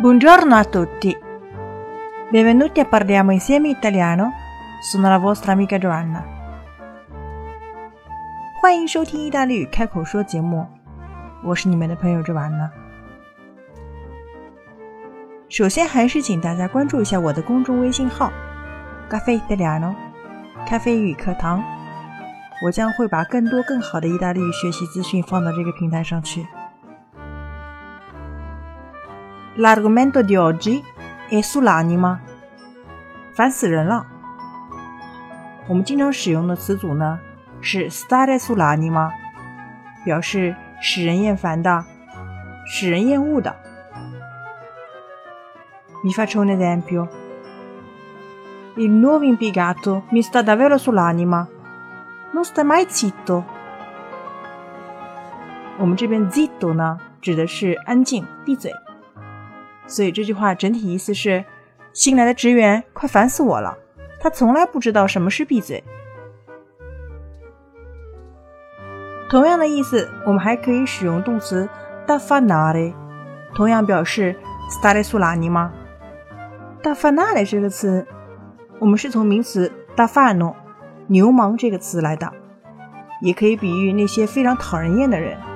Buongiorno a tutti. Benvenuti a Parliamo Insieme Italiano. Sono la vostra amica Giovanna. 欢迎收听意大利语开口说节目，我是你们的朋友Giovanna。首先还是请大家关注一下我的公众微信号 Caffè Italiano 咖啡语课堂，我将会把更多更好的意大利语学习资讯放到这个平台上去。L'argomento di oggi è sull'anima. 烦死人了。我们经常使用的词组呢是 stare sull'anima， 表示使人厌烦的，使人厌恶的。Vi faccio un esempio. Il nuovo impiegato mi sta davvero sull'anima. Non sta mai zitto. 我们这边 zitto 呢指的是安静闭嘴，所以这句话整体意思是新来的职员快烦死我了，他从来不知道什么是闭嘴。同样的意思我们还可以使用动词 d'affanare， 同样表示 stare sull'anima。 d'affanare 这个词我们是从名词 d'affanno 牛氓这个词来的，也可以比喻那些非常讨人厌的人。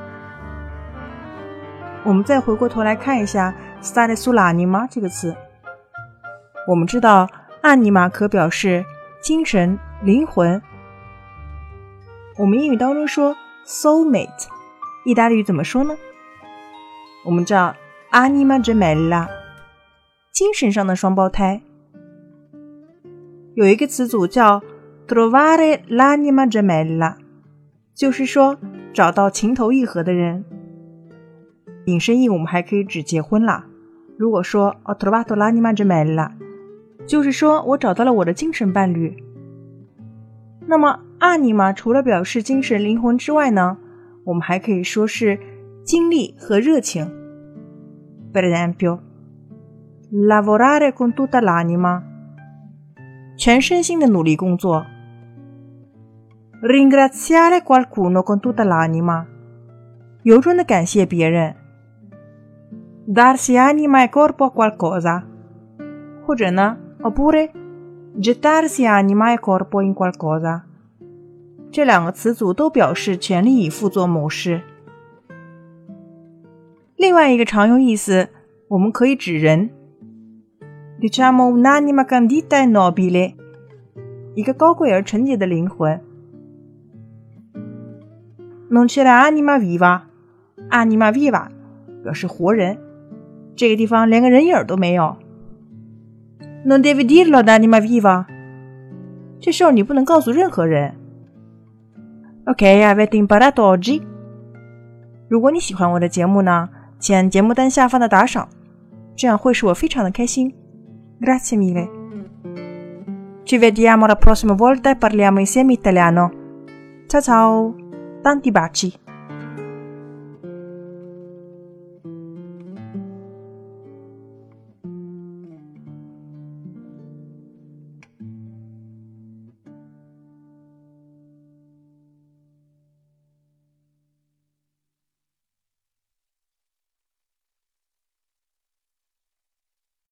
我们再回过头来看一下 stare sull'anima 这个词，我们知道 anima 可表示精神灵魂，我们英语当中说 soulmate， 意大利语怎么说呢？我们知道 anima gemella， 精神上的双胞胎。有一个词组叫 trovare l'anima gemella， 就是说找到情投意合的人。引申义我们还可以指结婚啦，如果说 ho trovato l'anima gemella， 就是说我找到了我的精神伴侣。那么 anima 除了表示精神灵魂之外呢，我们还可以说是精力和热情。 Per esempio lavorare con tutta l'anima， 全身心的努力工作。 ringraziare qualcuno con tutta l'anima， 由衷的感谢别人。 darsi anima e corpo a qualcosa， 或者呢 oppure gettarsi anima e corpo in qualcosa， 这两个词组都表示全力以赴做某事。另外一个常用意思我们可以指人， diciamo un'anima candida e nobile， 一个高贵而纯洁的灵魂。 non c'è l'anima viva， anima viva 表示活人，这个地方连个人影都没有。 non devi dirlo ad anima viva， 这事儿你不能告诉任何人。 Ok, avete imparato oggi？ 如果你喜欢我的节目呢，请按节目单下方的打赏，这样会使我非常的开心。 Grazie mille. Ci vediamo la prossima volta e parliamo insieme italiano. Ciao ciao, tanti baci.